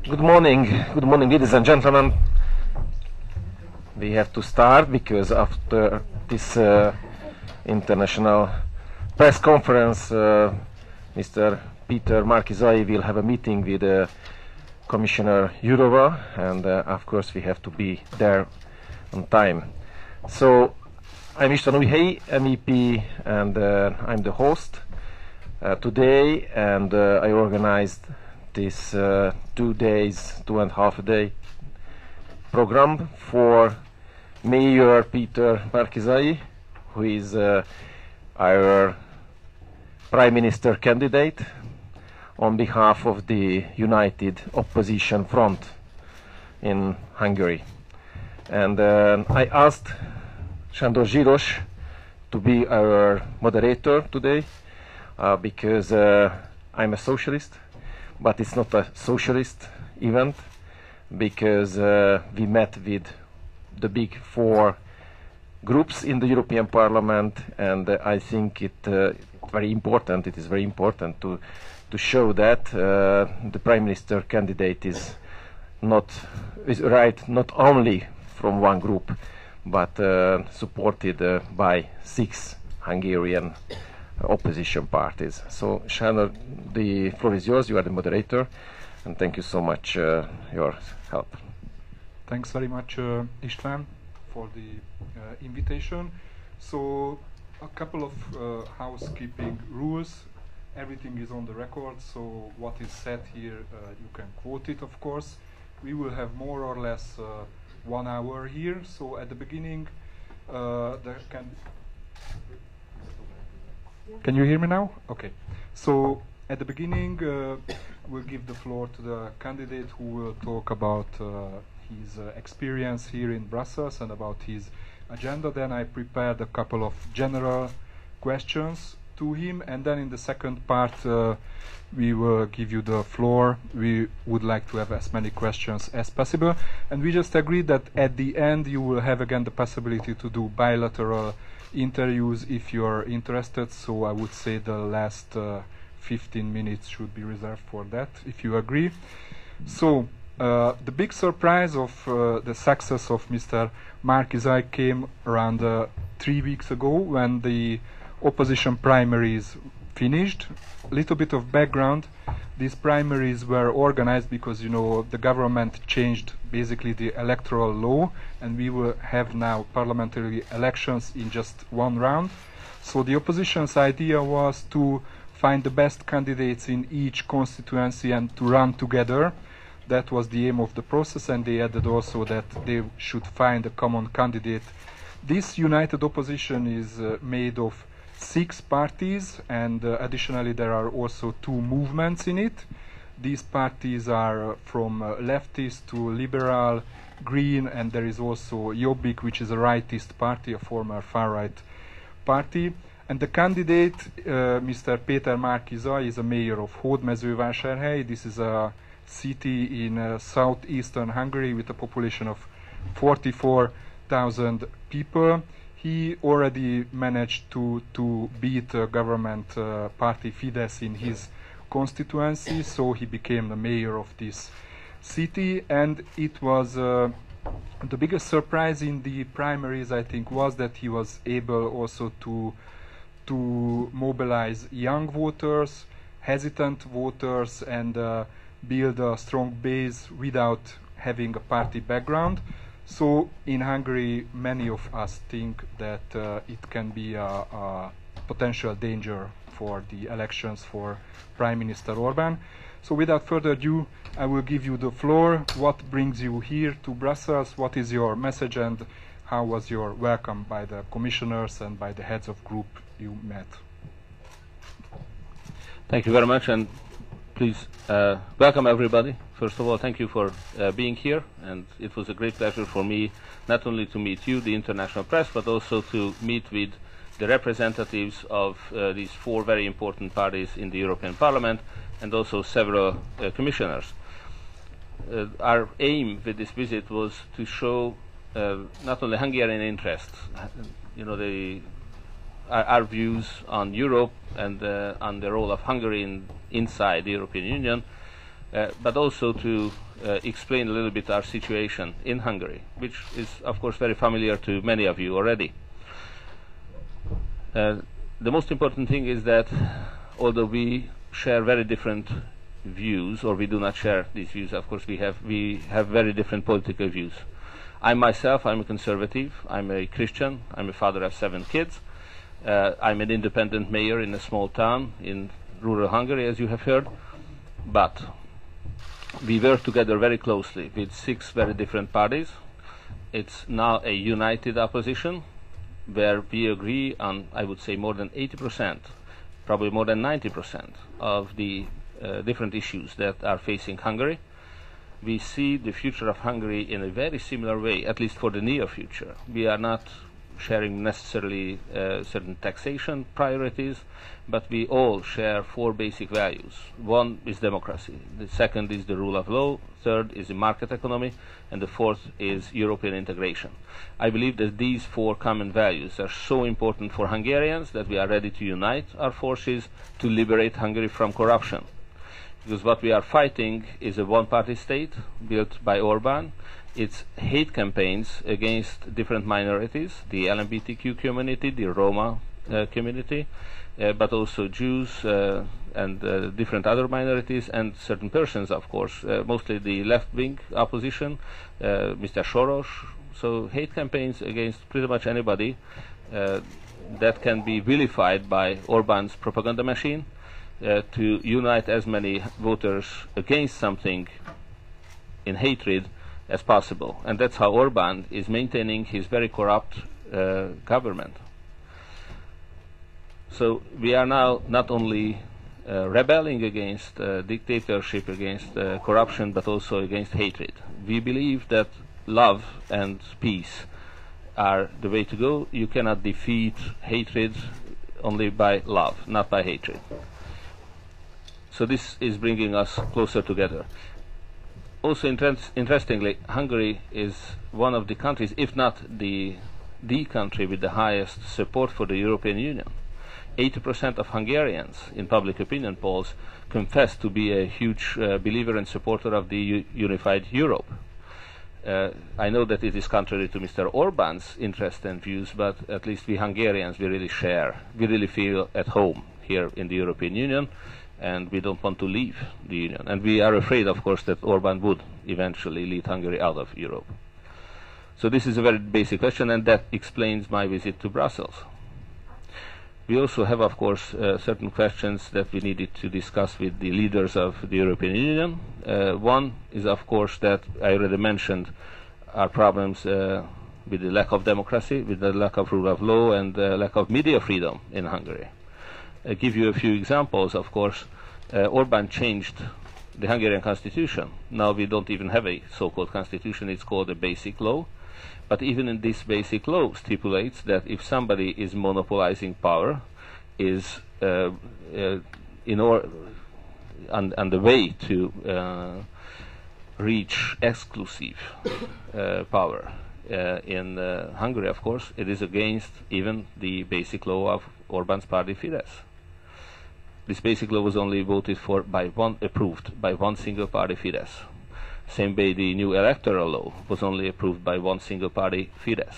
Good morning, ladies and gentlemen. We have to start because after this international press conference, Mr. Peter Márki-Zay will have a meeting with Commissioner Jourova, and of course we have to be there on time. So I'm István Újhelyi, MEP, and I'm the host today, and I organized this 2 days, 2.5 day program for Mayor Peter Márki-Zay, who is our Prime Minister candidate on behalf of the United Opposition Front in Hungary. And I asked Sándor Zsiros to be our moderator today because I'm a socialist, but it's not a socialist event because we met with the big four groups in the European Parliament, and I think it is very important to show that the Prime Minister candidate is right not only from one group, but supported by 6 Hungarian opposition parties. So, Sándor, the floor is yours. You are the moderator, and thank you so much your help. Thanks very much, István, for the invitation. So, a couple of housekeeping rules. Everything is on the record, so what is said here, you can quote it, of course. We will have more or less 1 hour here. So, at the beginning, Can you hear me now? Okay. So at the beginning, we'll give the floor to the candidate who will talk about his experience here in Brussels and about his agenda. Then I prepared a couple of general questions to him, and then in the second part, we will give you the floor. We would like to have as many questions as possible, and we just agreed that at the end you will have again the possibility to do bilateral interviews if you're interested. So I would say the last 15 minutes should be reserved for that, if you agree. So the big surprise of the success of Mr. Márki-Zay came around 3 weeks ago when the opposition primaries finished. A little bit of background: these primaries were organized because, you know, the government changed basically the electoral law, and we will have now parliamentary elections in just 1 round. So the opposition's idea was to find the best candidates in each constituency and to run together. That was the aim of the process, and they added also that they should find a common candidate. This united opposition is made of 6 parties, and additionally there are also 2 movements in it. These parties are from leftist to liberal, green, and there is also Jobbik, which is a rightist party, a former far-right party. And the candidate, Mr. Péter Márki-Zay, is a mayor of Hódmezővásárhely. This is a city in southeastern Hungary with a population of 44,000 people. He already managed to beat government party Fidesz in his constituency, so he became the mayor of this city. And it was the biggest surprise in the primaries, I think, was that he was able also to mobilize young voters, hesitant voters, and build a strong base without having a party background. So in Hungary, many of us think that it can be a potential danger for the elections for Prime Minister Orbán. So without further ado, I will give you the floor. What brings you here to Brussels? What is your message, and how was your welcome by the commissioners and by the heads of group you met? Thank you very much, and please welcome everybody. First of all, thank you for being here, and it was a great pleasure for me not only to meet you, the international press, but also to meet with the representatives of these 4 very important parties in the European Parliament, and also several commissioners. Our aim with this visit was to show not only Hungarian interests, you know, our views on Europe and on the role of Hungary inside the European Union, but also to explain a little bit our situation in Hungary, which is, of course, very familiar to many of you already. The most important thing is that although we share very different views, or we do not share these views, of course we have very different political views. I'm a conservative, I'm a Christian, I'm a father of 7 kids, I'm an independent mayor in a small town in rural Hungary, as you have heard, but we work together very closely with 6 very different parties. It's now a united opposition where we agree on, I would say, more than 80%, probably more than 90% of the different issues that are facing Hungary. We see the future of Hungary in a very similar way, at least for the near future. We are not sharing necessarily certain taxation priorities, but we all share 4 basic values. One is democracy, the second is the rule of law, third is the market economy, and the fourth is European integration. I believe that these 4 common values are so important for Hungarians that we are ready to unite our forces to liberate Hungary from corruption. Because what we are fighting is a one-party state built by Orbán. It's hate campaigns against different minorities, the LGBTQ community, the Roma community, but also Jews and different other minorities and certain persons, of course, mostly the left-wing opposition, Mr. Soros. So hate campaigns against pretty much anybody that can be vilified by Orbán's propaganda machine to unite as many voters against something in hatred as possible. And that's how Orbán is maintaining his very corrupt government. So we are now not only rebelling against dictatorship, against corruption, but also against hatred. We believe that love and peace are the way to go. You cannot defeat hatred only by love, not by hatred. So this is bringing us closer together. Also interestingly, Hungary is one of the countries, if not the country with the highest support for the European Union. 80% of Hungarians in public opinion polls confess to be a huge believer and supporter of the unified Europe. I know that it is contrary to Mr. Orbán's interests and views, but at least we Hungarians, we really feel at home here in the European Union, and we don't want to leave the Union. And we are afraid, of course, that Orbán would eventually lead Hungary out of Europe. So this is a very basic question, and that explains my visit to Brussels. We also have, of course, certain questions that we needed to discuss with the leaders of the European Union. One is, of course, that I already mentioned our problems with the lack of democracy, with the lack of rule of law, and the lack of media freedom in Hungary. I'll give you a few examples. Of course, Orbán changed the Hungarian constitution. Now we don't even have a so-called constitution, it's called a basic law. But even in this basic law stipulates that if somebody is monopolizing power, is on the way to reach exclusive power in Hungary, of course, it is against even the basic law of Orbán's party Fidesz. This basic law was only voted for approved by one single party, Fidesz. Same way the new electoral law was only approved by one single party, Fidesz.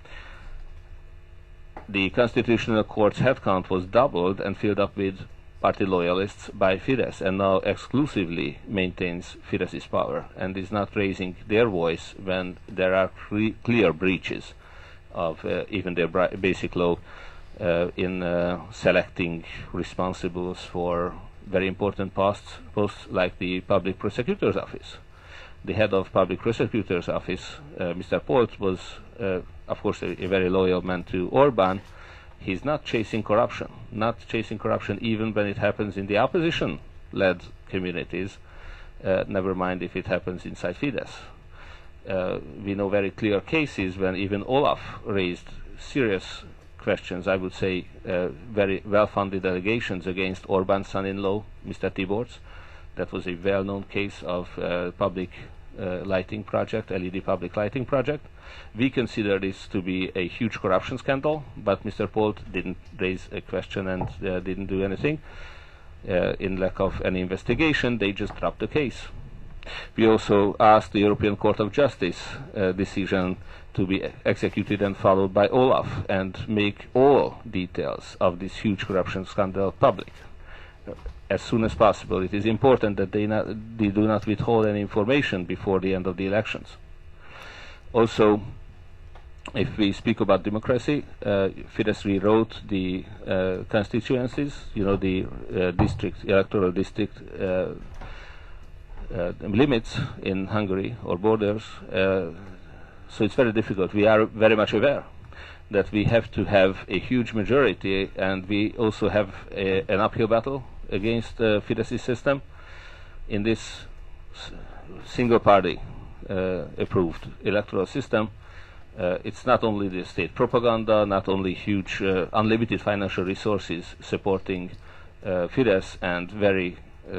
The Constitutional Court's headcount was doubled and filled up with party loyalists by Fidesz, and now exclusively maintains Fidesz's power and is not raising their voice when there are clear breaches of even their basic law in selecting responsibles for very important posts like the Public Prosecutor's Office. The head of Public Prosecutor's Office, Mr. Polt, was, of course, a very loyal man to Orbán. He's not chasing corruption even when it happens in the opposition-led communities, never mind if it happens inside Fidesz. We know very clear cases when even Olaf raised serious questions, I would say very well-founded allegations against Orbán's son-in-law, Mr. Tiborcs. That was a well-known case of public lighting project, LED public lighting project. We consider this to be a huge corruption scandal, but Mr. Polt didn't raise a question and didn't do anything. in lack of any investigation, they just dropped the case. We also asked the European Court of Justice decision to be executed and followed by Olaf and make all details of this huge corruption scandal public as soon as possible. It is important that they do not withhold any information before the end of the elections. Also, if we speak about democracy, Fidesz rewrote the constituencies, the electoral district limits in Hungary or borders. So it's very difficult. We are very much aware that we have to have a huge majority, and we also have an uphill battle against the Fidesz system in this single party approved electoral system. It's not only the state propaganda, not only huge unlimited financial resources supporting Fidesz and very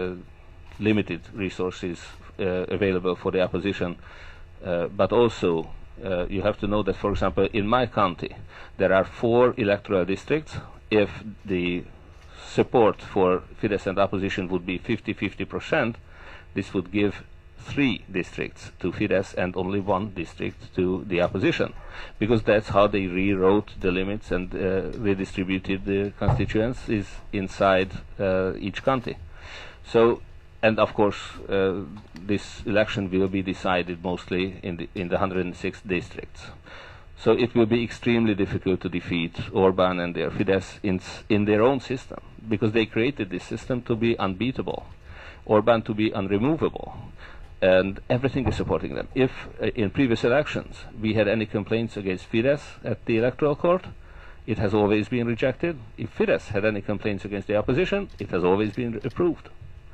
limited resources available for the opposition, but also you have to know that, for example, in my county there are 4 electoral districts. If the support for Fidesz and opposition would be 50-50%, this would give 3 districts to Fidesz and only 1 district to the opposition, because that's how they rewrote the limits and redistributed the constituencies inside each county. So, and of course, this election will be decided mostly in the 106 districts. So it will be extremely difficult to defeat Orbán and their Fidesz in their own system, because they created this system to be unbeatable, Orbán to be unremovable, and everything is supporting them. If in previous elections we had any complaints against Fidesz at the electoral court, it has always been rejected. If Fidesz had any complaints against the opposition, it has always been approved.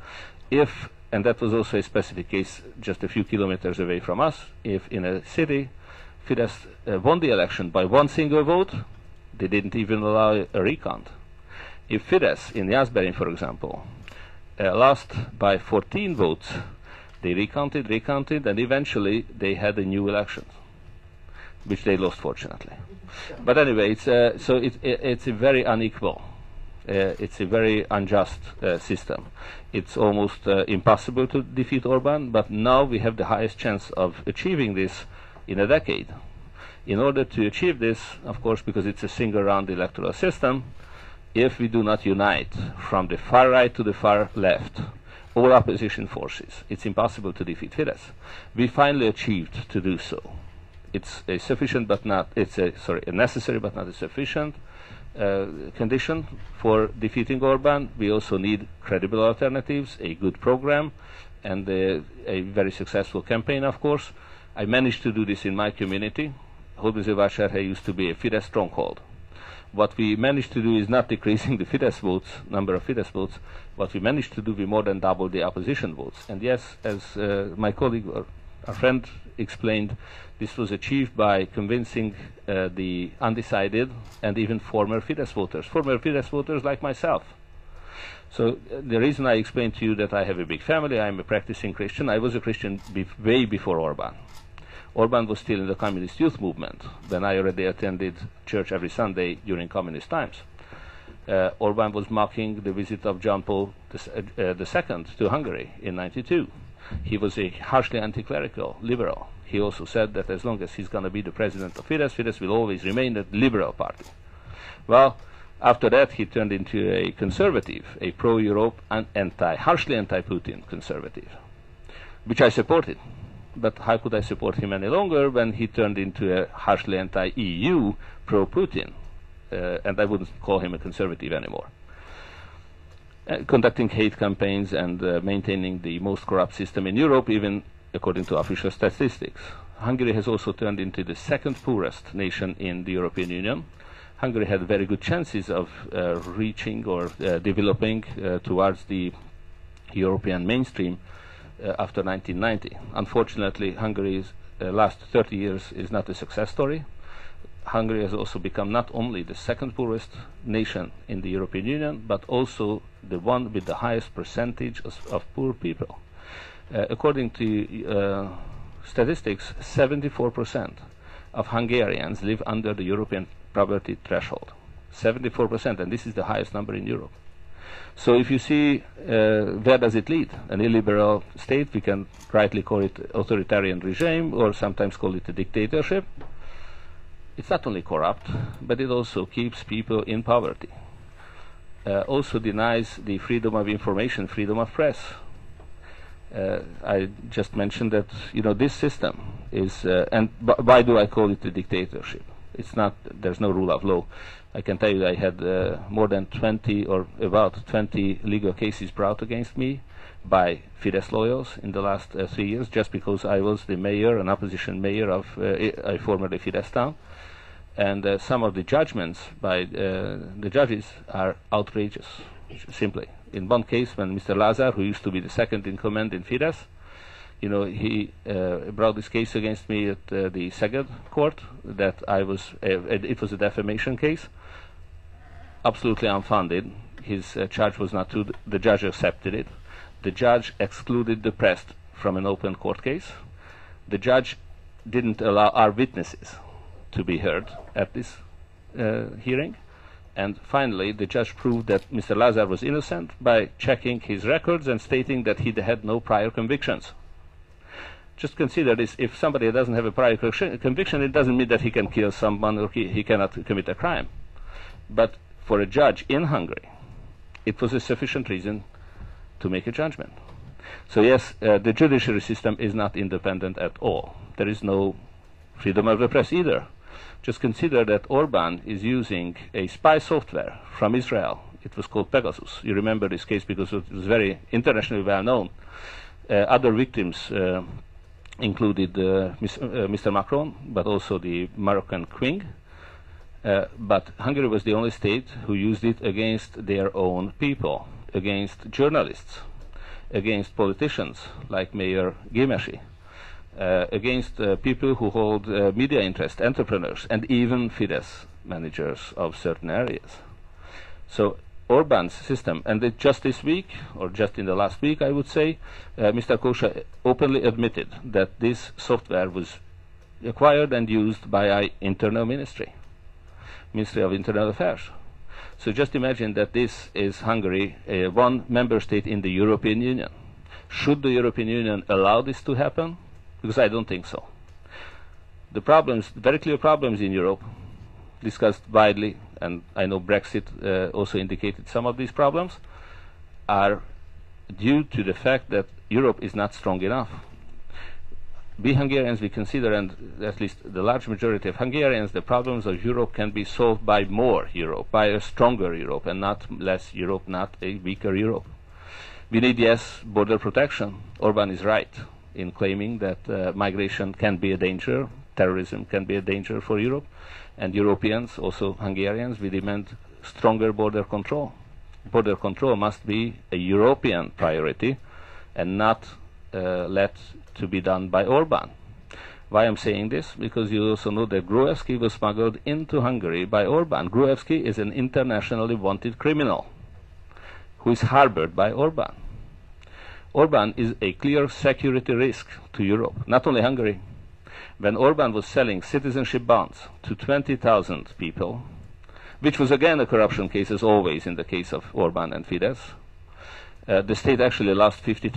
If, and that was also a specific case just a few kilometers away from us, if in a city Fidesz won the election by 1 single vote, they didn't even allow a recount. If Fidesz in Jászberény, for example, lost by 14 votes, they recounted, and eventually they had a new election, which they lost, fortunately. But anyway, it's a very unequal, it's a very unjust system. It's almost impossible to defeat Orbán, but now we have the highest chance of achieving this in a decade. In order to achieve this, of course, because it's a single-round electoral system, if we do not unite from the far right to the far left, all opposition forces, it's impossible to defeat Fidesz. We finally achieved to do so. It's a sufficient but not, a necessary but not a sufficient condition for defeating Orbán. We also need credible alternatives, a good program, and a very successful campaign, of course. I managed to do this in my community. Hódmezővásárhely used to be a Fidesz stronghold. What we managed to do is not decreasing the Fidesz votes, number of Fidesz votes. What we managed to do, we more than doubled the opposition votes. And yes, as my colleague or our friend explained, this was achieved by convincing the undecided and even former Fidesz voters like myself. So the reason I explained to you that I have a big family, I'm a practicing Christian. I was a Christian way before Orbán. Orbán was still in the communist youth movement when I already attended church every Sunday during communist times. Orbán was mocking the visit of John Paul II to Hungary in '92. He was a harshly anti-clerical liberal. He also said that as long as he's going to be the president of Fidesz, Fidesz will always remain a liberal party. Well, after that he turned into a conservative, a pro-Europe and harshly anti-Putin conservative, which I supported. But how could I support him any longer when he turned into a harshly anti-EU, pro-Putin? And I wouldn't call him a conservative anymore. Conducting hate campaigns and maintaining the most corrupt system in Europe, even according to official statistics. Hungary has also turned into the 2nd poorest nation in the European Union. Hungary had very good chances of reaching or developing towards the European mainstream after 1990. Unfortunately, Hungary's last 30 years is not a success story. Hungary has also become not only the 2nd poorest nation in the European Union, but also the one with the highest percentage of poor people. According to statistics, 74% of Hungarians live under the European poverty threshold. 74%, and this is the highest number in Europe. So if you see where does it lead, an illiberal state, we can rightly call it authoritarian regime or sometimes call it a dictatorship. It's not only corrupt, but it also keeps people in poverty. Also denies the freedom of information, freedom of press. I just mentioned that this system is, and why do I call it a dictatorship? It's not. There's no rule of law. I can tell you I had more than 20 or about 20 legal cases brought against me by Fidesz loyals in the last 3 years, just because I was the mayor, an opposition mayor of a formerly Fidesz town. And some of the judgments by the judges are outrageous, simply. In one case, when Mr. Lazar, who used to be the second in command in Fidesz, he brought this case against me at the Szeged court that it was a defamation case, absolutely unfounded. His charge was not true. The judge accepted it. The judge excluded the press from an open court case. The judge didn't allow our witnesses to be heard at this hearing. And finally, the judge proved that Mr. Lazar was innocent by checking his records and stating that he had no prior convictions. Just consider this: if somebody doesn't have a prior conviction, it doesn't mean that he can kill someone or he cannot commit a crime. But for a judge in Hungary, it was a sufficient reason to make a judgment. So yes, the judiciary system is not independent at all. There is no freedom of the press either. Just consider that Orbán is using a spy software from Israel. It was called Pegasus. You remember this case because it was very internationally well known. Other victims included Mr. Macron, but also the Moroccan King. But Hungary was the only state who used it against their own people, against journalists, against politicians like Mayor Gyimesi, against people who hold media interest, entrepreneurs, and even Fidesz managers of certain areas. So Orbán's system, and just this week, or just in the last week, I would say, Mr. Kósa openly admitted that this software was acquired and used by our internal Ministry of Internal Affairs. So just imagine that this is Hungary, one member state in the European Union. Should the European Union allow this to happen? Because I don't think so. The problems, very clear problems in Europe, discussed widely, and I know Brexit also indicated some of these problems, are due to the fact that Europe is not strong enough. We Hungarians, we consider, and at least the large majority of Hungarians, the problems of Europe can be solved by more Europe, by a stronger Europe, and not less Europe, not a weaker Europe. We need, yes, border protection. Orbán is right in claiming that migration can be a danger, terrorism can be a danger for Europe, and Europeans, also Hungarians, we demand stronger border control. Border control must be a European priority and not let to be done by Orbán. Why I'm saying this? Because you also know that Gruevski was smuggled into Hungary by Orbán. Gruevski is an internationally wanted criminal who is harbored by Orbán. Orbán is a clear security risk to Europe, not only Hungary. When Orbán was selling citizenship bonds to 20,000 people, which was again a corruption case, as always in the case of Orbán and Fidesz, the state actually lost 50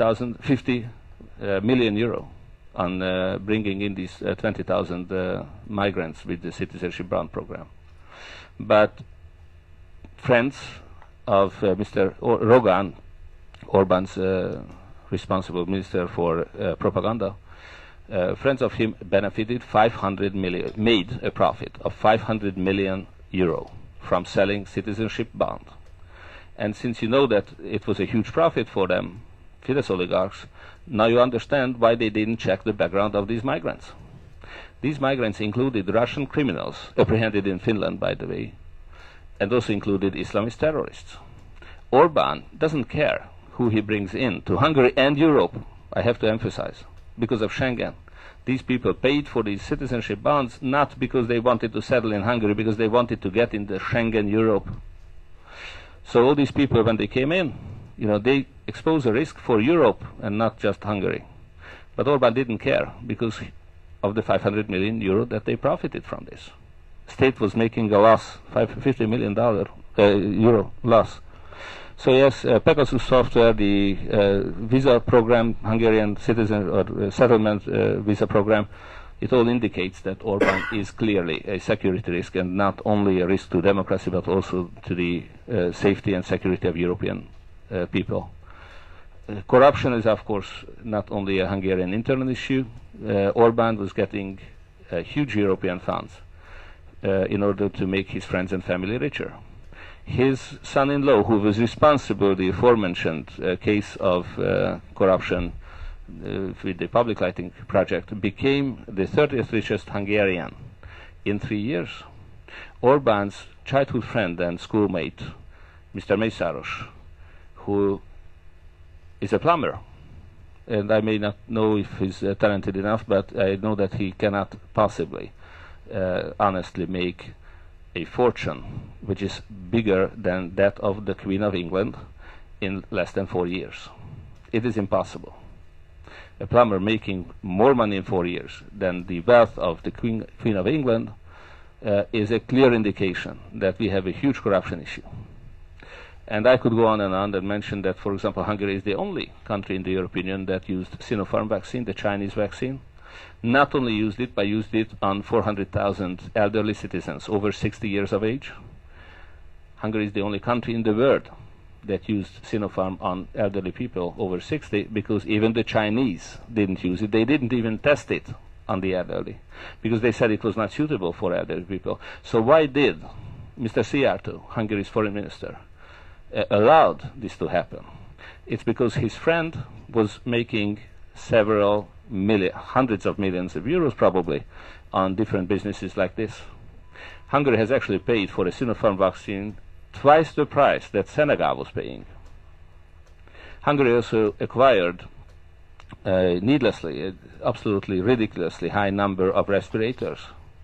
million euro on bringing in these 20,000 migrants with the citizenship bond program. But friends of Mr. Rogán, Orbán's responsible minister for propaganda, friends of him benefited 500 million, made a profit of 500 million euro from selling citizenship bond. And since you know that it was a huge profit for them, Fidesz oligarchs, now you understand why they didn't check the background of these migrants. These migrants included Russian criminals, apprehended in Finland, by the way, and also included Islamist terrorists. Orbán doesn't care who he brings in to Hungary and Europe, I have to emphasize, because of Schengen. These people paid for these citizenship bonds not because they wanted to settle in Hungary, because they wanted to get in the Schengen Europe. So all these people, when they came in, they expose a risk for Europe and not just Hungary. But Orbán didn't care because of the 500 million euro that they profited from this. State was making a loss, $50 million euro loss. So yes, Pegasus software, the visa program, Hungarian citizen or settlement visa program, it all indicates that Orban is clearly a security risk, and not only a risk to democracy but also to the safety and security of European people. Corruption is of course not only a Hungarian internal issue. Orban was getting huge European funds in order to make his friends and family richer. His son-in-law, who was responsible for the aforementioned case of corruption with the public lighting project, became the 30th richest Hungarian in 3 years. Orban's childhood friend and schoolmate, Mr. Mészáros, who is a plumber, and I may not know if he's talented enough, but I know that he cannot possibly honestly make a fortune which is bigger than that of the Queen of England in less than 4 years. It is impossible. A plumber making more money in 4 years than the wealth of the Queen of England is a clear indication that we have a huge corruption issue. And I could go on and mention that, for example, Hungary is the only country in the European Union that used Sinopharm vaccine, the Chinese vaccine. Not only used it, but used it on 400,000 elderly citizens over 60 years of age. Hungary is the only country in the world that used Sinopharm on elderly people over 60, because even the Chinese didn't use it. They didn't even test it on the elderly, because they said it was not suitable for elderly people. So why did Mr. Szijjártó, Hungary's foreign minister, allowed this to happen? It's because his friend was making several hundreds of millions of euros probably on different businesses like this. Hungary has actually paid for a Sinopharm vaccine twice the price that Senegal was paying. Hungary also acquired needlessly, absolutely ridiculously high number of respirators.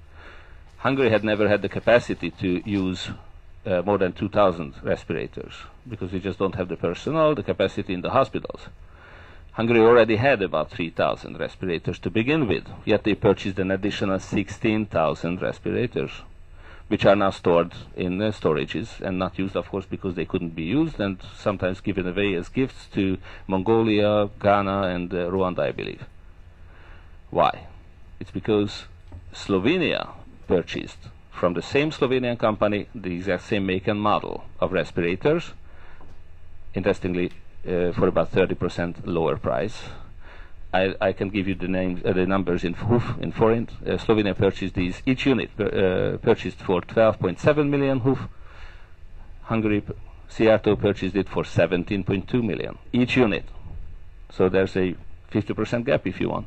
Hungary had never had the capacity to use more than 2,000 respirators, because we just don't have the personnel, the capacity in the hospitals. Hungary already had about 3,000 respirators to begin with, yet they purchased an additional 16,000 respirators, which are now stored in storages and not used, of course, because they couldn't be used, and sometimes given away as gifts to Mongolia, Ghana, and Rwanda, I believe. Why? It's because Slovenia purchased from the same Slovenian company the exact same make and model of respirators, interestingly, for about 30% lower price. I can give you the names, the numbers in HUF, in forint. Slovenia purchased these, each unit purchased for 12.7 million HUF. Hungary, Szijjártó purchased it for 17.2 million, each unit. So there's a 50% gap if you want.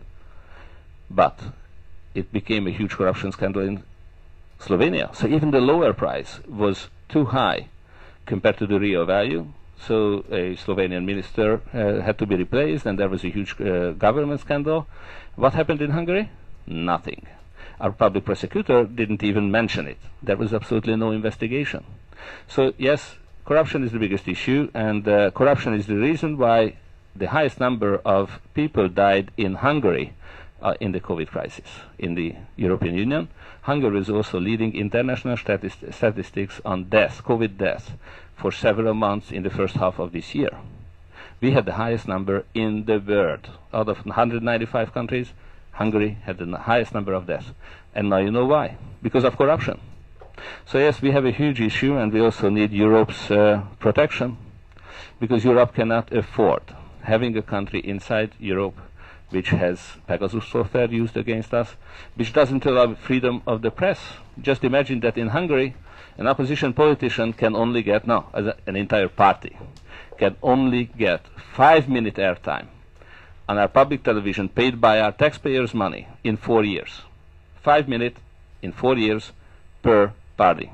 But it became a huge corruption scandal in Slovenia. So even the lower price was too high compared to the real value. So a Slovenian minister had to be replaced, and there was a huge government scandal. What happened in Hungary? Nothing. Our public prosecutor didn't even mention it. There was absolutely no investigation. So yes, corruption is the biggest issue, and corruption is the reason why the highest number of people died in Hungary in the COVID crisis in the European Union. Hungary is also leading international statistics on deaths, COVID deaths, for several months in the first half of this year. We had the highest number in the world. Out of 195 countries, Hungary had the highest number of deaths. And now you know why. Because of corruption. So yes, we have a huge issue, and we also need Europe's protection, because Europe cannot afford having a country inside Europe which has Pegasus software used against us, which doesn't allow freedom of the press. Just imagine that in Hungary, an opposition politician can only get, an entire party, can only get 5-minute airtime on our public television paid by our taxpayers' money in 4 years. 5 minutes in 4 years per party.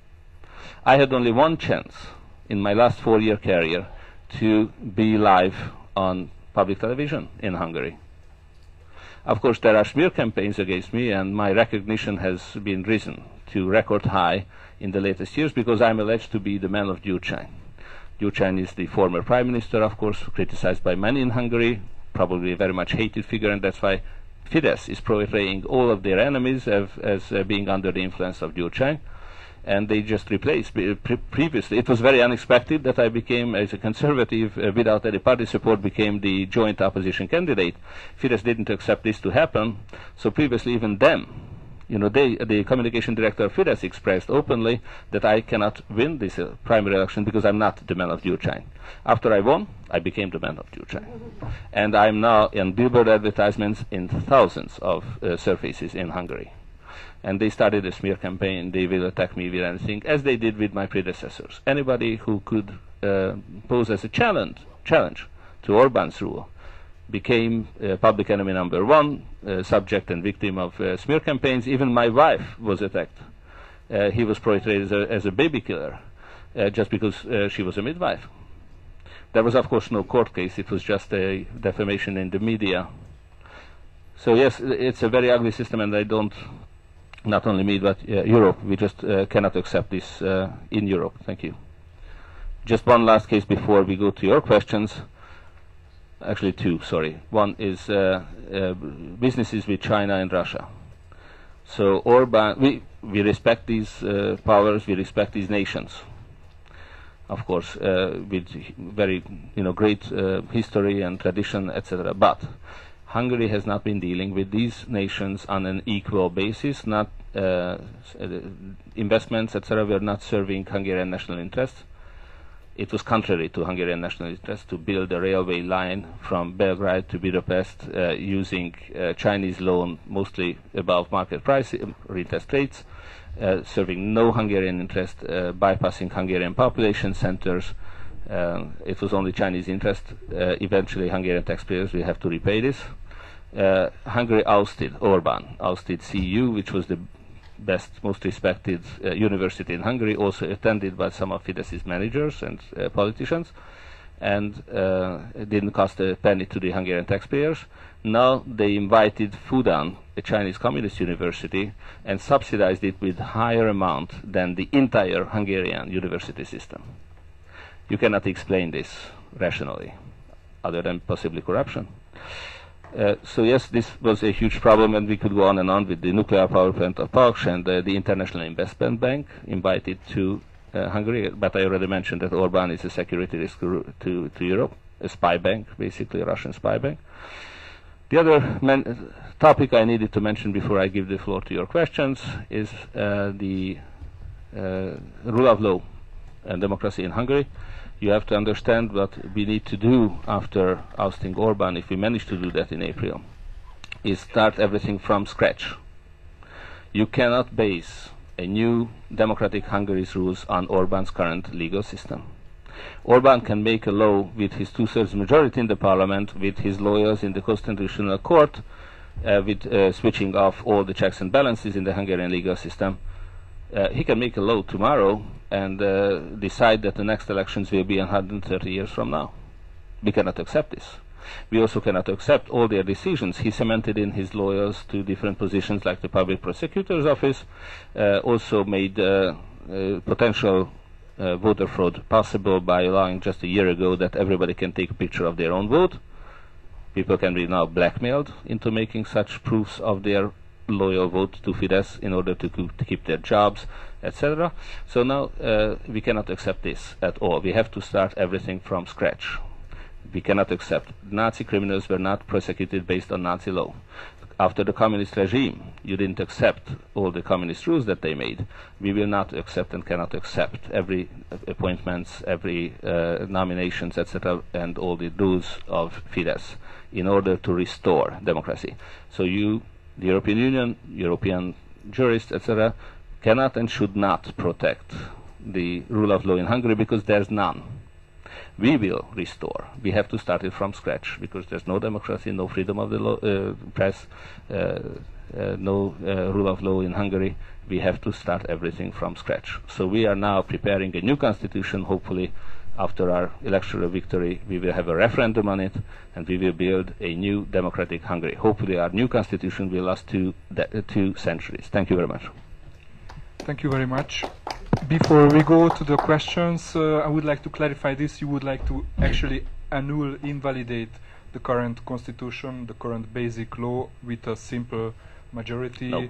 I had only one chance in my last 4-year career to be live on public television in Hungary. Of course, there are smear campaigns against me, and my recognition has been risen to record high in the latest years, because I'm alleged to be the man of Gyurcsány. Gyurcsány is the former prime minister, of course, criticized by many in Hungary, probably a very much hated figure, and that's why Fidesz is portraying all of their enemies as being under the influence of Gyurcsány. and they just replaced. Previously, it was very unexpected that I became, as a conservative, without any party support, became the joint opposition candidate. Fidesz didn't accept this to happen, so previously even them, you know, the communication director of Fidesz expressed openly that I cannot win this primary election because I'm not the man of Gyurcsány. After I won, I became the man of Gyurcsány. And I'm now in billboard advertisements in thousands of surfaces in Hungary. And they started a smear campaign. They will attack me with anything, as they did with my predecessors. Anybody who could pose as a challenge to Orbán's rule became public enemy number one, subject and victim of smear campaigns. Even my wife was attacked. He was portrayed as a baby killer just because she was a midwife. There was, of course, no court case. It was just a defamation in the media. So yes, it's a very ugly system, and I don't, not only me, but Europe, we just cannot accept this in Europe. Thank you. Just one last case before we go to your questions. Actually two, sorry. One is businesses with China and Russia. So Orbán, we respect these powers, we respect these nations, of course, with very great history and tradition, etc. But Hungary has not been dealing with these nations on an equal basis. Not investments, etc. were not serving Hungarian national interests. It was contrary to Hungarian national interest to build a railway line from Belgrade to Budapest using Chinese loan, mostly above market price, interest rates, serving no Hungarian interest, bypassing Hungarian population centers. It was only Chinese interest. Eventually, Hungarian taxpayers will have to repay this. Hungary ousted Orbán, ousted CEU, which was the best, most respected university in Hungary, also attended by some of Fidesz's managers and politicians, and it didn't cost a penny to the Hungarian taxpayers. Now they invited Fudan, a Chinese communist university, and subsidized it with higher amount than the entire Hungarian university system. You cannot explain this rationally, other than possibly corruption. So yes, this was a huge problem, and we could go on and on with the nuclear power plant of Paks and the International Investment Bank invited to Hungary. But I already mentioned that Orbán is a security risk to Europe, a spy bank, basically a Russian spy bank. The other topic I needed to mention before I give the floor to your questions is the rule of law and democracy in Hungary. You have to understand what we need to do after ousting Orbán, if we manage to do that in April, is start everything from scratch. You cannot base a new democratic Hungary's rules on Orbán's current legal system. Orbán can make a law with his two-thirds majority in the parliament, with his lawyers in the constitutional court, with switching off all the checks and balances in the Hungarian legal system. He can make a law tomorrow and decide that the next elections will be 130 years from now. We cannot accept this. We also cannot accept all their decisions. He cemented in his lawyers to different positions like the public prosecutor's office, also made potential voter fraud possible by allowing just a year ago that everybody can take a picture of their own vote. People can be now blackmailed into making such proofs of their loyal vote to Fidesz in order to keep their jobs, etc. So now we cannot accept this at all. We have to start everything from scratch. We cannot accept. Nazi criminals were not prosecuted based on Nazi law. After the communist regime, you didn't accept all the communist rules that they made. We will not accept and cannot accept every appointments, every nominations, etc., and all the rules of Fidesz in order to restore democracy. So you, the European Union, European jurists, etc., cannot and should not protect the rule of law in Hungary because there's none. We will restore. We have to start it from scratch because there's no democracy, no freedom of the press, no rule of law in Hungary. We have to start everything from scratch. So we are now preparing a new constitution. Hopefully, after our electoral victory, we will have a referendum on it, and we will build a new democratic Hungary. Hopefully, our new constitution will last 2 centuries. Thank you very much. Thank you very much. Before we go to the questions, I would like to clarify this. You would like to actually annul, invalidate the current constitution, the current basic law with a simple majority? No.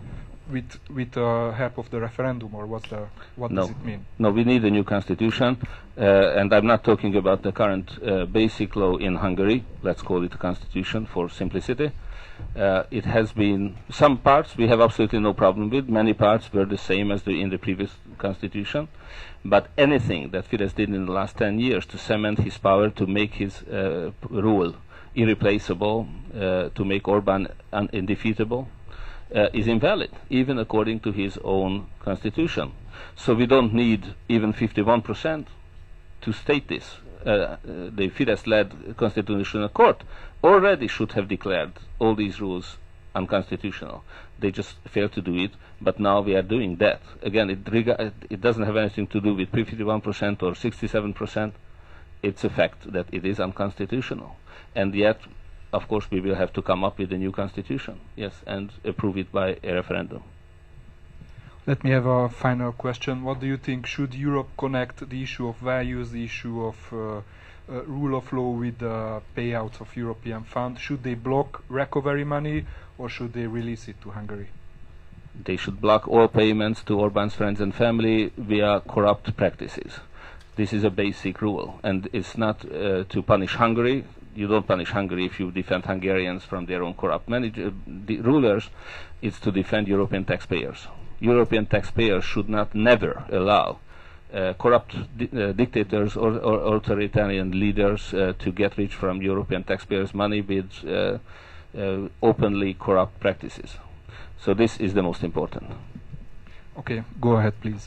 with help of the referendum, or what No. does it mean? No, we need a new constitution, and I'm not talking about the current basic law in Hungary. Let's call it a constitution for simplicity. It has been some parts we have absolutely no problem with. Many parts were the same as in the previous constitution. But anything that Fidesz did in the last 10 years to cement his power, to make his rule irreplaceable, to make Orban undefeatable, is invalid, even according to his own constitution. So we don't need even 51% to state this. The Fidesz-led Constitutional Court already should have declared all these rules unconstitutional. They just failed to do it, but now we are doing that. Again, it doesn't have anything to do with 51% or 67%. It's a fact that it is unconstitutional. And yet, of course, we will have to come up with a new constitution, yes, and approve it by a referendum. Let me have a final question. What do you think? Should Europe connect the issue of values, the issue of rule of law with the payouts of European funds? Should they block recovery money, or should they release it to Hungary? They should block all payments to Orban's friends and family via corrupt practices. This is a basic rule, and it's not to punish Hungary. You don't punish Hungary if you defend Hungarians from their own corrupt rulers. It's to defend European taxpayers. European taxpayers should not never allow corrupt dictators or authoritarian leaders to get rich from European taxpayers' money with openly corrupt practices. So this is the most important. Okay, go ahead, please.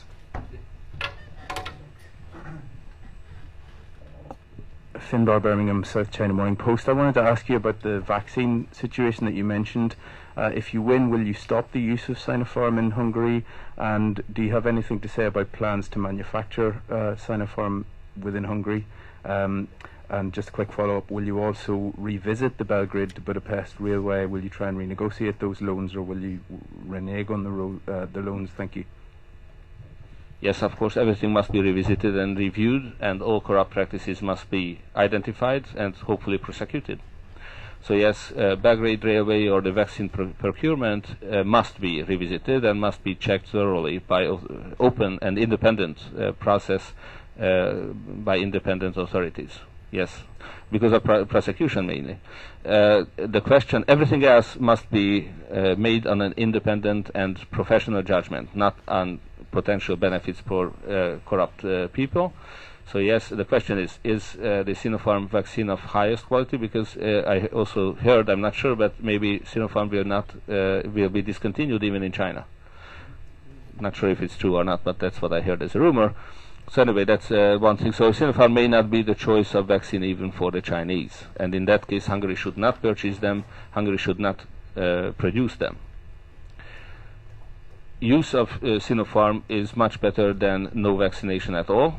Finbar, Birmingham, South China Morning Post. I wanted to ask you about the vaccine situation that you mentioned. If you win, will you stop the use of Sinopharm in Hungary? And do you have anything to say about plans to manufacture Sinopharm within Hungary? And just a quick follow-up, will you also revisit the Belgrade to Budapest railway? Will you try and renegotiate those loans, or will you renege on the loans? Thank you. Yes, of course, everything must be revisited and reviewed, and all corrupt practices must be identified and hopefully prosecuted. So yes, Belgrade Railway or the vaccine procurement must be revisited and must be checked thoroughly by open and independent process by independent authorities. Yes, because of prosecution mainly. The question, everything else must be made on an independent and professional judgment, not on potential benefits for corrupt people. So yes, the question is the Sinopharm vaccine of highest quality? Because I also heard, I'm not sure, but maybe Sinopharm will be discontinued even in China. Not sure if it's true or not, but that's what I heard as a rumor. So anyway, that's one thing. So Sinopharm may not be the choice of vaccine even for the Chinese. And in that case, Hungary should not purchase them. Hungary should not produce them. Use of Sinopharm is much better than no vaccination at all.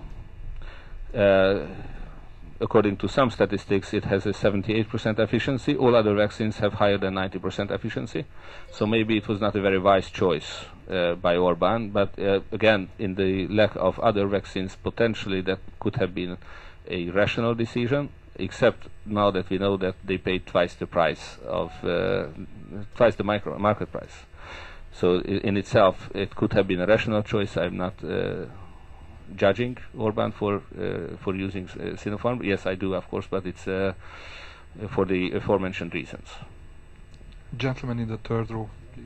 According to some statistics, it has a 78% efficiency. All other vaccines have higher than 90% efficiency. So maybe it was not a very wise choice by Orban, but again, in the lack of other vaccines, potentially that could have been a rational decision, except now that we know that they paid twice the price of twice the market price. So in itself, it could have been a rational choice. I'm not judging Orban for using Sinopharm. Yes, I do, of course, but it's for the aforementioned reasons. Gentleman in the third row, please.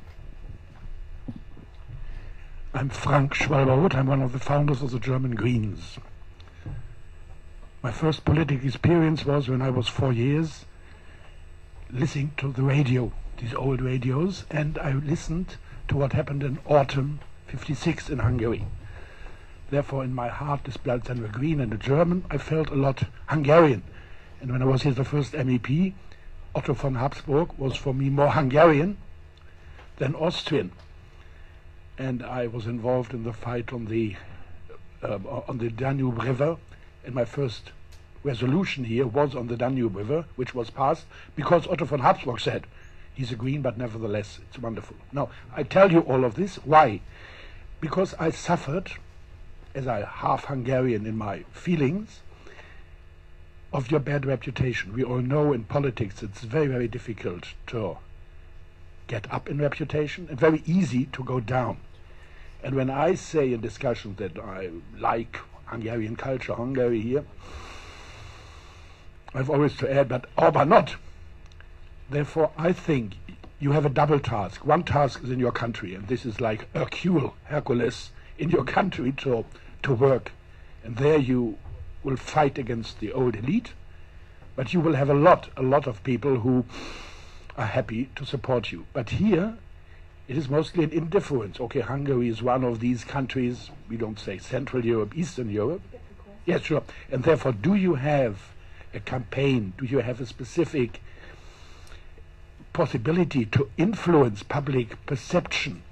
I'm Frank Schwalberwood. I'm one of the founders of the German Greens. My first political experience was when I was 4 years, listening to the radio, these old radios, and I listened to what happened in autumn '56 in Hungary. Therefore, in my heart, despite the Green and the German, I felt a lot Hungarian. And when I was here the first MEP, Otto von Habsburg was for me more Hungarian than Austrian. And I was involved in the fight on the Danube River, and my first resolution here was on the Danube River, which was passed because Otto von Habsburg said, he's a Green, but nevertheless, it's wonderful. Now, I tell you all of this. Why? Because I suffered, as a half Hungarian in my feelings, of your bad reputation. We all know in politics it's very, very difficult to get up in reputation and very easy to go down. And when I say in discussions that I like Hungarian culture, Hungary here, I've always to add, but Orban not. Therefore, I think you have a double task. One task is in your country, and this is like Hercules in your country to work. And there you will fight against the old elite, but you will have a lot of people who are happy to support you. But here, it is mostly an indifference. Okay, Hungary is one of these countries, we don't say Central Europe, Eastern Europe. Yes, sure. And therefore, do you have a campaign? Do you have a specific possibility to influence public perception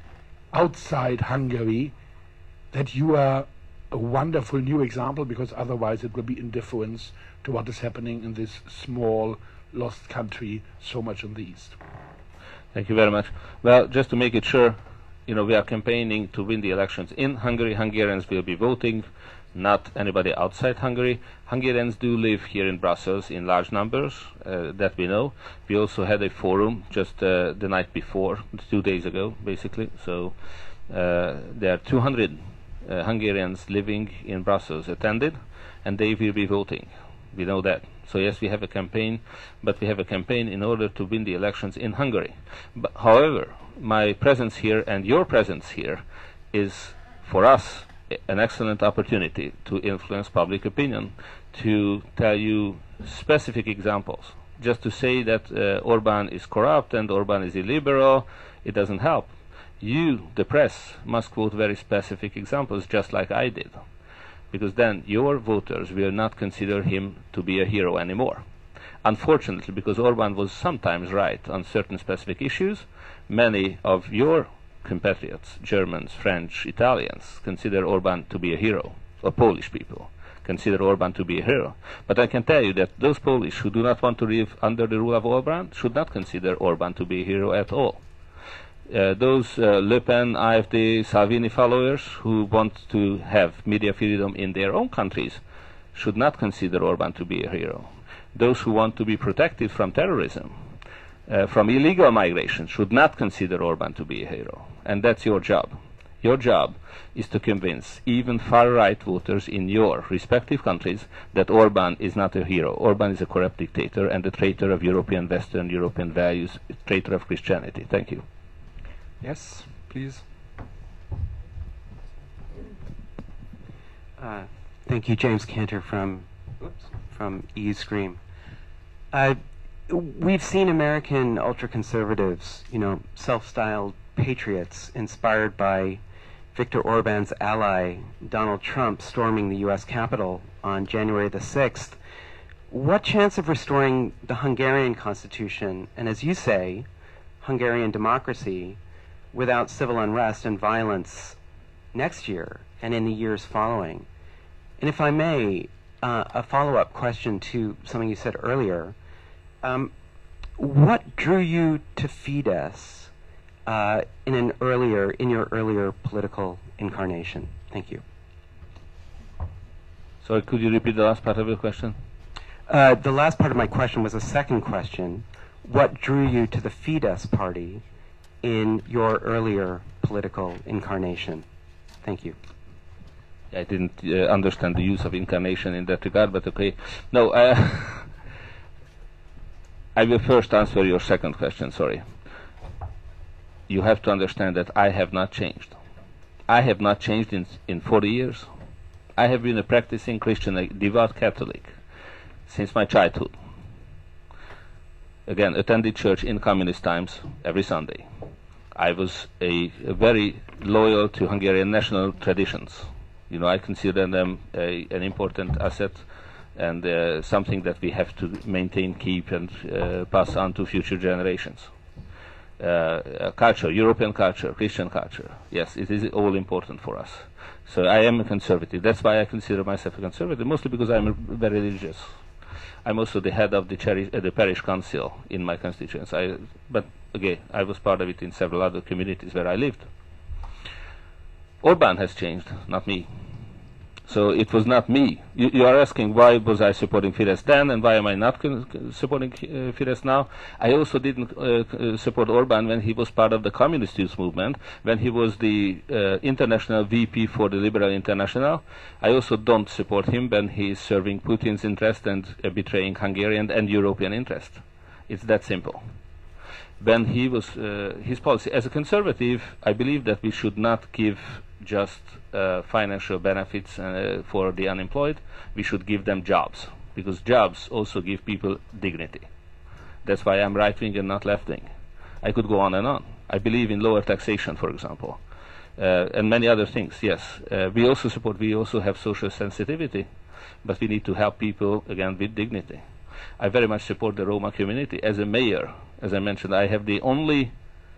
outside Hungary that you are a wonderful new example, because otherwise it will be indifference to what is happening in this small, lost country so much in the East? Thank you very much. Well, just to make it sure, we are campaigning to win the elections in Hungary. Hungarians will be voting, not anybody outside Hungary. Hungarians do live here in Brussels in large numbers, that we know. We also had a forum just the night before, 2 days ago, basically. So there are 200 Hungarians living in Brussels attended, and they will be voting. We know that. So yes, we have a campaign, but we have a campaign in order to win the elections in Hungary. But, however, my presence here and your presence here is, for us, an excellent opportunity to influence public opinion, to tell you specific examples. Just to say that Orban is corrupt and Orban is illiberal, it doesn't help. You, the press, must quote very specific examples, just like I did, because then your voters will not consider him to be a hero anymore. Unfortunately, because Orban was sometimes right on certain specific issues, many of your compatriots, Germans, French, Italians, consider Orban to be a hero, or Polish people consider Orban to be a hero. But I can tell you that those Polish who do not want to live under the rule of Orban should not consider Orban to be a hero at all. Those Le Pen, AfD, Salvini followers who want to have media freedom in their own countries should not consider Orban to be a hero. Those who want to be protected from terrorism, from illegal migration, should not consider Orban to be a hero. And that's your job. Your job is to convince even far-right voters in your respective countries that Orban is not a hero. Orban is a corrupt dictator and a traitor of European, Western European values, a traitor of Christianity. Thank you. Yes, please. Thank you, James Cantor from eScream. We've seen American ultra-conservatives, self-styled patriots inspired by Viktor Orban's ally, Donald Trump, storming the U.S. Capitol on January the 6th. What chance of restoring the Hungarian constitution, and as you say, Hungarian democracy, without civil unrest and violence next year and in the years following? And if I may, a follow-up question to something you said earlier. What drew you to Fidesz in your earlier political incarnation? Thank you. Sorry, could you repeat the last part of your question? The last part of my question was a second question. What drew you to the Fidesz party in your earlier political incarnation? Thank you. I didn't understand the use of incarnation in that regard, but okay. No, I will first answer your second question, sorry. You have to understand that I have not changed. I have not changed in 40 years. I have been a practicing Christian, a devout Catholic, since my childhood. Again, attended church in communist times every Sunday. I was a very loyal to Hungarian national traditions. I consider them an important asset and something that we have to maintain, keep, and pass on to future generations. Culture, European culture, Christian culture, yes, it is all important for us. So I am a conservative. That's why I consider myself a conservative, mostly because I'm very religious. I'm also the head of the parish council in my constituency. But again, I was part of it in several other communities where I lived. Orban has changed, not me. So it was not me. You are asking why was I supporting Fidesz then and why am I not supporting Fidesz now? I also didn't support Orban when he was part of the Communist Youth Movement, when he was the international VP for the Liberal International. I also don't support him when he is serving Putin's interest and betraying Hungarian and European interest. It's that simple. When he was his policy as a conservative, I believe that we should not give just financial benefits for the unemployed. We should give them jobs, because jobs also give people dignity. That's why I'm right-wing and not left-wing. I could go on and on. I believe in lower taxation, for example, and many other things. Yes, we also have social sensitivity, but we need to help people again with dignity. I very much support the Roma community. As a mayor, as I mentioned, I have the only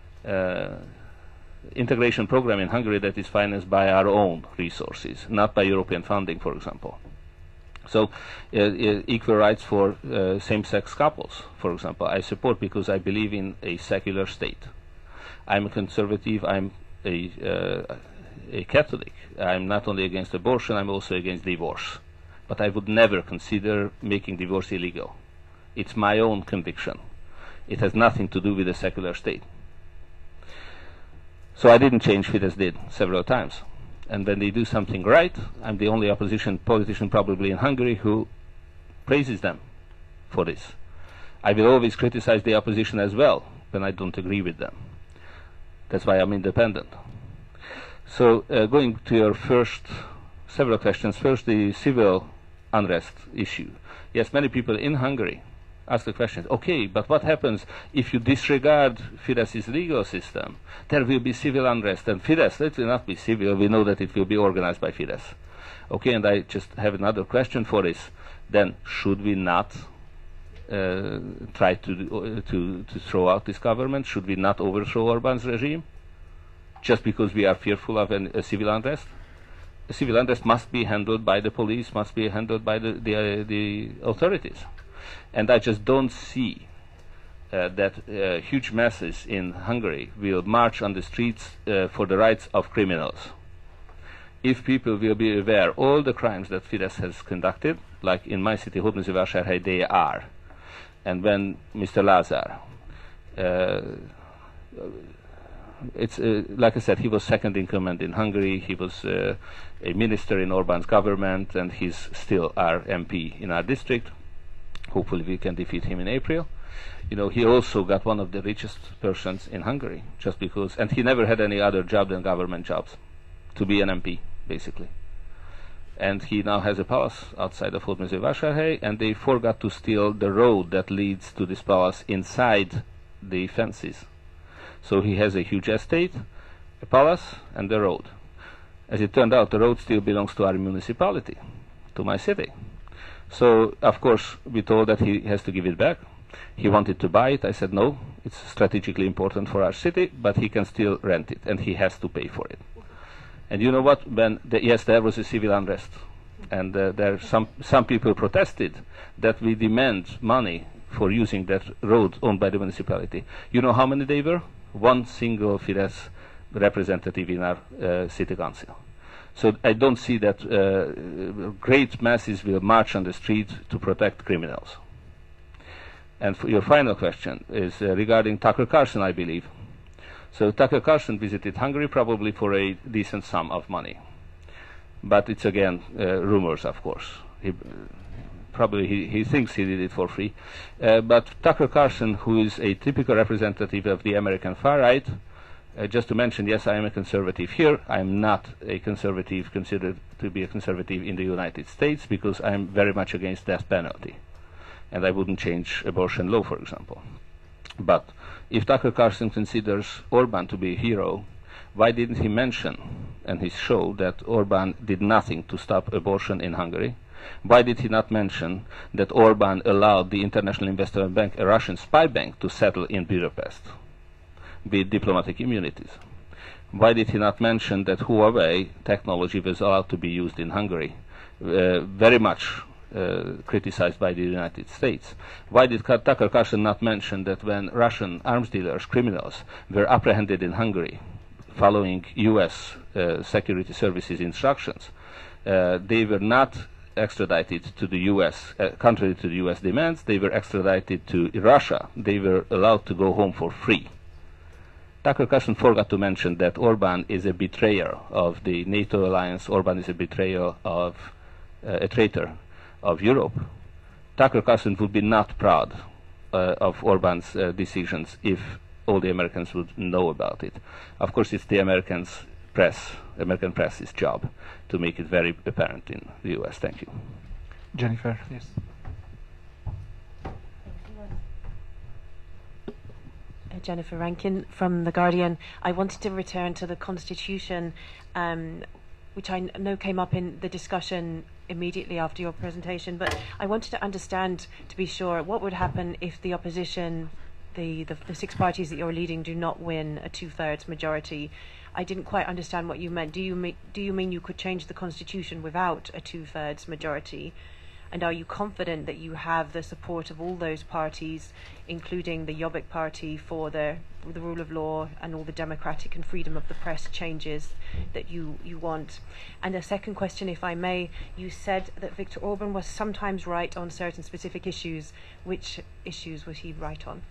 integration program in Hungary that is financed by our own resources, not by European funding, for example. So equal rights for same-sex couples, for example, I support because I believe in a secular state. I'm a conservative, I'm a Catholic. I'm not only against abortion, I'm also against divorce. But I would never consider making divorce illegal. It's my own conviction. It has nothing to do with the secular state. So I didn't change. Fidesz did several times. And when they do something right, I'm the only opposition politician probably in Hungary who praises them for this. I will always criticize the opposition as well when I don't agree with them. That's why I'm independent. So going to your several questions. First, the civil unrest issue. Yes, many people in Hungary ask the question, okay, but what happens if you disregard Fidesz's legal system? There will be civil unrest, and Fidesz, it will not be civil, we know that it will be organized by Fidesz. Okay, and I just have another question for this. Then should we not try to throw out this government? Should we not overthrow Orban's regime just because we are fearful of a civil unrest? A civil unrest must be handled by the police, must be handled by the authorities. And I just don't see that huge masses in Hungary will march on the streets for the rights of criminals. If people will be aware all the crimes that Fidesz has conducted, like in my city, Hódmezővásárhely, they are. And when Mr. Lázár, it's like I said, he was second in command in Hungary. He was a minister in Orban's government, and he's still our MP in our district. Hopefully we can defeat him in April. You know, he also got one of the richest persons in Hungary, just because, and he never had any other job than government jobs, to be an MP, basically. And he now has a palace outside of Hódmezővásárhely, and they forgot to steal the road that leads to this palace inside the fences. So he has a huge estate, a palace, and the road. As it turned out, the road still belongs to our municipality, to my city. So, of course, we told that he has to give it back. He wanted to buy it. I said, no, it's strategically important for our city, but he can still rent it, and he has to pay for it. And you know what? Yes, there was a civil unrest, and there some people protested that we demand money for using that road owned by the municipality. You know how many they were? One single Fidesz representative in our city council. So I don't see that great masses will march on the street to protect criminals. And for your final question is regarding Tucker Carlson, I believe. So Tucker Carlson visited Hungary probably for a decent sum of money. But it's again rumors, of course. He thinks he did it for free. But Tucker Carlson, who is a typical representative of the American far right, just to mention, yes, I am a conservative here. I am not a conservative considered to be a conservative in the United States because I am very much against death penalty. And I wouldn't change abortion law, for example. But if Tucker Carlson considers Orban to be a hero, why didn't he mention in his show that Orban did nothing to stop abortion in Hungary? Why did he not mention that Orban allowed the International Investment Bank, a Russian spy bank, to settle in Budapest with diplomatic immunities? Why did he not mention that Huawei technology was allowed to be used in Hungary, very much criticized by the United States? Why did Tucker Carlson not mention that when Russian arms dealers, criminals, were apprehended in Hungary following US security services instructions, They were not extradited to the U.S., contrary to the U.S. demands. They were extradited to Russia. They were allowed to go home for free. Tucker Carlson forgot to mention that Orban is a betrayer of the NATO alliance. Orban is a betrayer of a traitor of Europe. Tucker Carlson would be not proud of Orban's decisions if all the Americans would know about it. Of course, it's the American press's job to make it very apparent in the U.S. Thank you. Jennifer, yes. Jennifer Rankin from The Guardian. I wanted to return to the Constitution, which I know came up in the discussion immediately after your presentation, but I wanted to understand, to be sure, what would happen if the opposition, the 6 parties that you're leading, do not win a 2/3 majority. I didn't quite understand what you meant. Do you mean you could change the Constitution without a 2/3 majority? And are you confident that you have the support of all those parties, including the Jobbik Party, for the rule of law and all the democratic and freedom of the press changes that you want? And a second question, if I may, you said that Viktor Orban was sometimes right on certain specific issues. Which issues was he right on?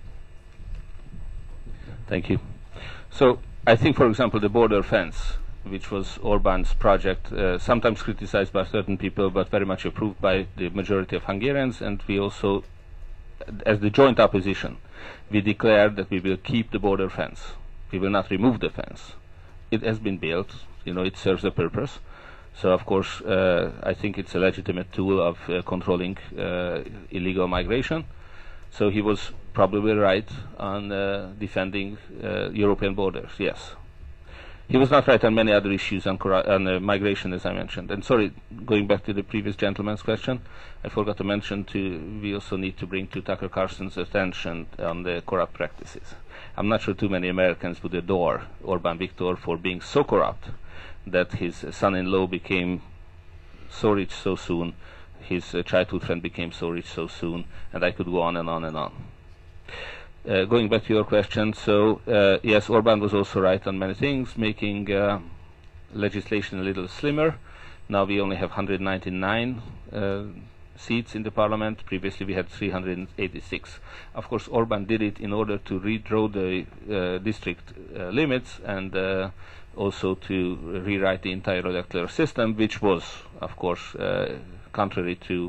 Thank you. So I think, for example, the border fence, which was Orban's project, sometimes criticized by certain people, but very much approved by the majority of Hungarians. And we also, as the joint opposition, we declared that we will keep the border fence. We will not remove the fence. It has been built. It serves a purpose. So, of course, I think it's a legitimate tool of controlling illegal migration. So he was probably right on defending European borders, yes. He was not right on many other issues on migration, as I mentioned. And sorry, going back to the previous gentleman's question, I forgot to mention we also need to bring to Tucker Carlson's attention on the corrupt practices. I'm not sure too many Americans would adore Orban Viktor for being so corrupt that his son-in-law became so rich so soon, his childhood friend became so rich so soon, and I could go on and on and on. Going back to your question, so yes, Orban was also right on many things, making legislation a little slimmer. Now we only have 199 seats in the parliament. Previously we had 386. Of course, Orban did it in order to redraw the district limits and also to rewrite the entire electoral system, which was, of course, contrary to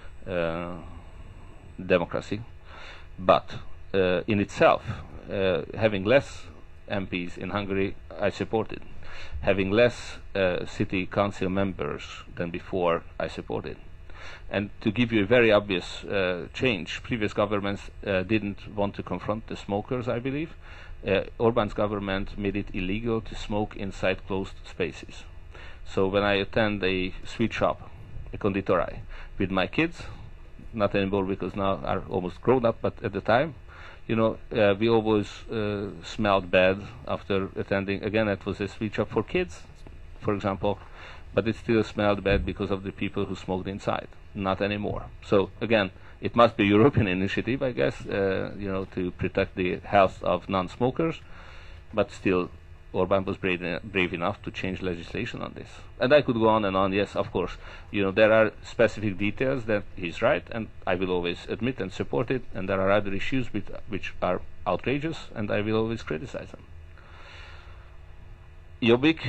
democracy. But in itself, having less MPs in Hungary, I supported. Having less city council members than before, I supported. And to give you a very obvious change, previous governments didn't want to confront the smokers, I believe. Orban's government made it illegal to smoke inside closed spaces. So when I attend a sweet shop, a konditorei, with my kids, not anymore because now are almost grown up, but at the time, we always smelled bad after attending. Again, it was a sweet shop for kids, for example, but it still smelled bad because of the people who smoked inside. Not anymore. So again, it must be a European initiative, I guess, to protect the health of non-smokers, but still, Orban was brave enough to change legislation on this. And I could go on and on. Yes, of course, there are specific details that he's right, and I will always admit and support it, and there are other issues which are outrageous, and I will always criticize them. Jobbik,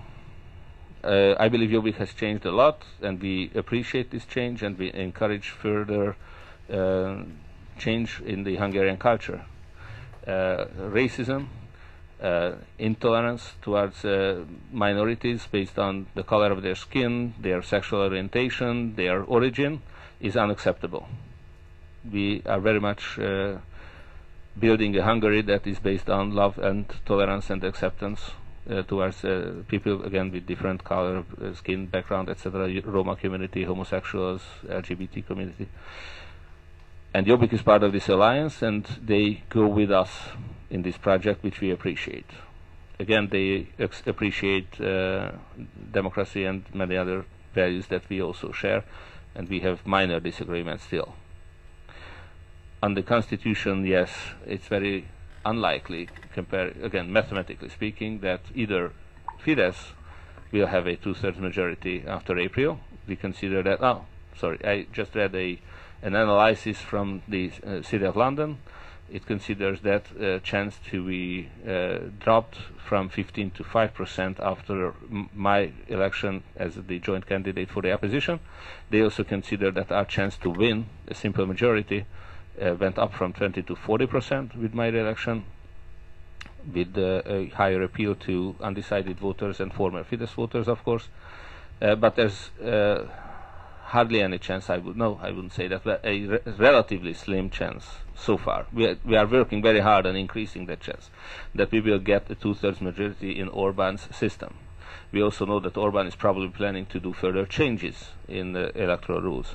I believe Jobbik has changed a lot, and we appreciate this change, and we encourage further change in the Hungarian culture. Racism, intolerance towards minorities based on the color of their skin, their sexual orientation, their origin, is unacceptable. We are very much building a Hungary that is based on love and tolerance and acceptance towards people, again, with different color, skin, background, etc., Roma community, homosexuals, LGBT community. And Jobbik is part of this alliance, and they go with us in this project, which we appreciate. Again, they appreciate democracy and many other values that we also share, and we have minor disagreements still. On the Constitution, yes, it's very unlikely, again, mathematically speaking, that either Fidesz we'll have a 2/3 majority after April. We consider that. Oh, sorry, I just read an analysis from the City of London. It considers that chance to be dropped from 15 to 5% after my election as the joint candidate for the opposition. They also consider that our chance to win a simple majority went up from 20 to 40% with my election, with a higher appeal to undecided voters and former Fidesz voters, of course. But there's hardly any chance, I wouldn't say that, but a relatively slim chance so far. We are working very hard on increasing that chance, that we will get a 2/3 majority in Orban's system. We also know that Orban is probably planning to do further changes in the electoral rules.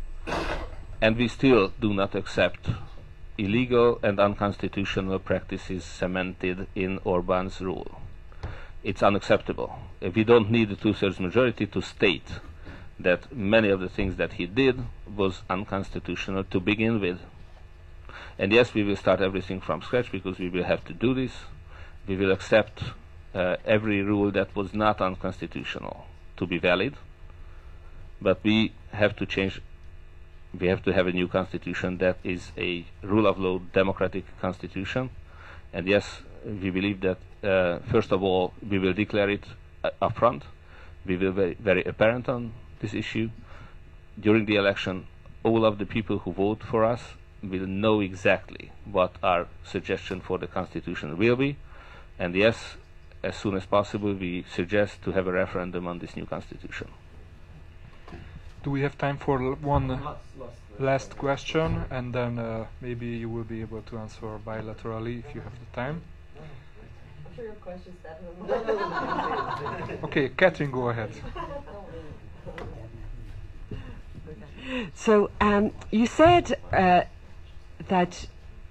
And we still do not accept illegal and unconstitutional practices cemented in Orban's rule. It's unacceptable. We don't need a 2/3 majority to state that many of the things that he did was unconstitutional to begin with. And yes, we will start everything from scratch because we will have to do this. We will accept every rule that was not unconstitutional to be valid, but we have to change. We have to have a new constitution that is a rule of law democratic constitution. And yes, we believe that first of all we will declare it upfront. We will be very apparent on this issue. During the election, all of the people who vote for us will know exactly what our suggestion for the constitution will be. And yes, as soon as possible, we suggest to have a referendum on this new constitution. Do we have time for one last question, and then maybe you will be able to answer bilaterally if you have the time? I'm sure your question's better. Okay, Catherine, go ahead. So you said that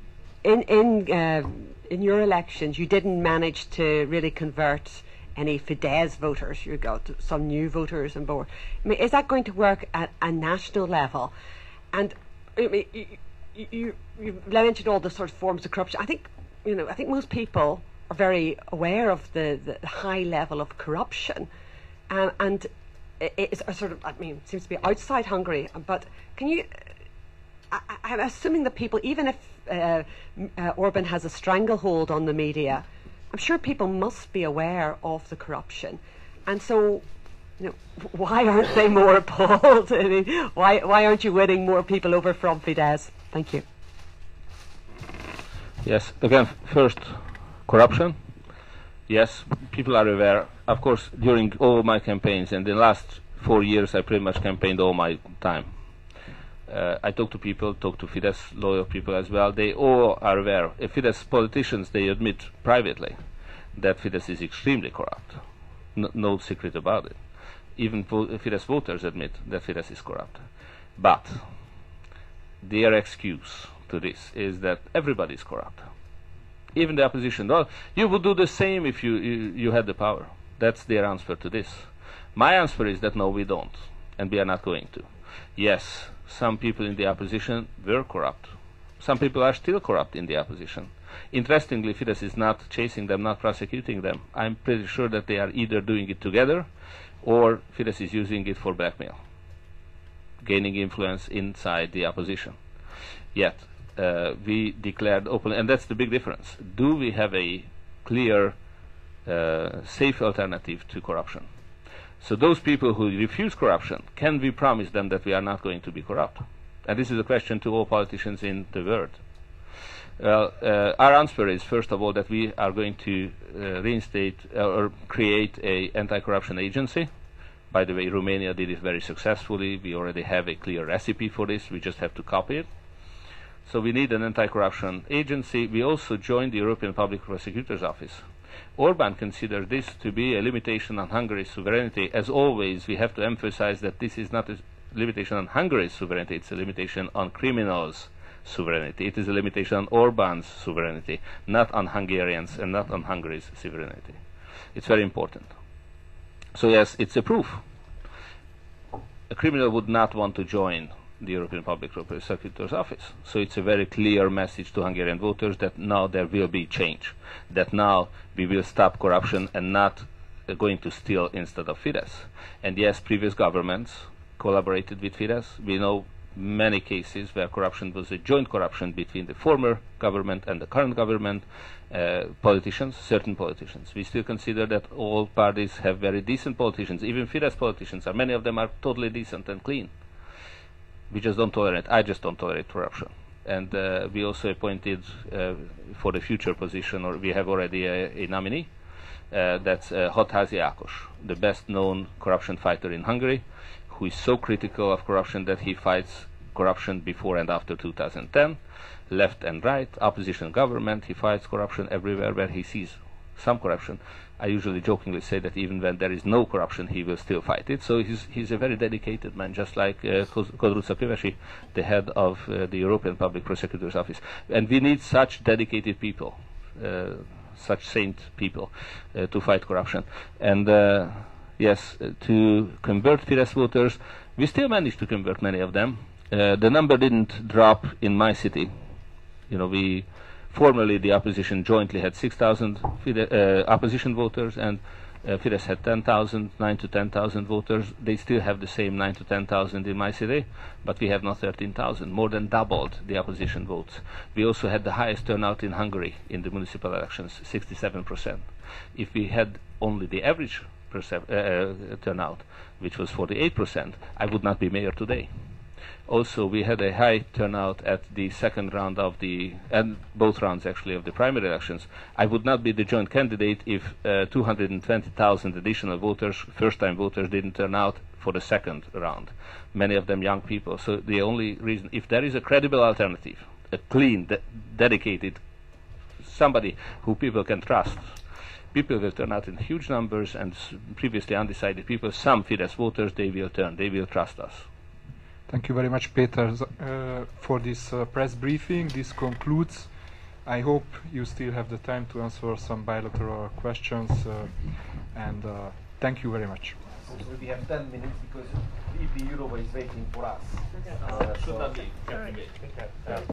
in your elections you didn't manage to really convert any Fidesz voters. You got some new voters on board. I mean, is that going to work at a national level? And I mean, you mentioned all the sort of forms of corruption. I think most people are very aware of the high level of corruption, and it's a sort of, I mean, seems to be outside Hungary. But can you? I'm assuming that people, even if Orban has a stranglehold on the media, I'm sure people must be aware of the corruption, and so, why aren't they more appalled? I mean, why aren't you winning more people over from Fidesz? Thank you. Yes, again, first, corruption. Yes, people are aware. Of course, during all my campaigns, and the last 4 years, I pretty much campaigned all my time. I talk to people, talk to Fidesz loyal people as well. They all are aware. Fidesz politicians, they admit privately that Fidesz is extremely corrupt. No secret about it. Even Fidesz voters admit that Fidesz is corrupt. But their excuse to this is that everybody is corrupt. Even the opposition. Well, you would do the same if you had the power. That's their answer to this. My answer is that no, we don't, and we are not going to. Yes, some people in the opposition were corrupt. Some people are still corrupt in the opposition. Interestingly, Fidesz is not chasing them, not prosecuting them. I'm pretty sure that they are either doing it together or Fidesz is using it for blackmail, gaining influence inside the opposition. Yet, we declared openly, and that's the big difference. Do we have a clear, safe alternative to corruption? So those people who refuse corruption, can we promise them that we are not going to be corrupt? And this is a question to all politicians in the world. Well, our answer is, first of all, that we are going to reinstate or create an anti-corruption agency. By the way, Romania did it very successfully. We already have a clear recipe for this. We just have to copy it. So we need an anti-corruption agency. We also joined the European Public Prosecutor's Office. Orban considers this to be a limitation on Hungary's sovereignty. As always, we have to emphasize that this is not a limitation on Hungary's sovereignty, it's a limitation on criminals' sovereignty. It is a limitation on Orban's sovereignty, not on Hungarians and not on Hungary's sovereignty. It's very important. So yes, it's a proof. A criminal would not want to join the European Public Prosecutor's Office. So it's a very clear message to Hungarian voters that now there will be change, that now we will stop corruption and not going to steal instead of Fidesz. And yes, previous governments collaborated with Fidesz. We know many cases where corruption was a joint corruption between the former government and the current government, politicians, certain politicians. We still consider that all parties have very decent politicians. Even Fidesz politicians, many of them are totally decent and clean. We just don't tolerate, I just don't tolerate corruption. And we also appointed for the future position, or we have already a nominee, that's Hatházi Ákos, the best known corruption fighter in Hungary, who is so critical of corruption that he fights corruption before and after 2010, left and right, opposition government, he fights corruption everywhere where he sees some corruption. I usually jokingly say that even when there is no corruption, he will still fight it. So he's a very dedicated man, just like Kodruca Kövesi, the head of the European Public Prosecutor's Office. And we need such dedicated people, such saint people, to fight corruption. And yes, to convert Fidesz voters, we still managed to convert many of them. The number didn't drop in my city. You know, formerly the opposition jointly had 6,000 opposition voters, and Fidesz had 10,000, 9 to 10,000 voters. They still have the same 9 to 10,000 in my city, but we have now 13,000, more than doubled the opposition votes. We also had the highest turnout in Hungary in the municipal elections, 67%. If we had only the average turnout, which was 48%, I would not be mayor today. Also, we had a high turnout at the second round of and both rounds actually of the primary elections. I would not be the joint candidate if 220,000 additional voters, first-time voters, didn't turn out for the second round. Many of them young people. So the only reason, if there is a credible alternative, a clean, dedicated, somebody who people can trust, people will turn out in huge numbers, and previously undecided people, some Fidesz voters, they will trust us. Thank you very much, Peter, for this press briefing. This concludes. I hope you still have the time to answer some bilateral questions, and thank you very much. So we have 10 minutes because EP Eurova is waiting for us. Should not be.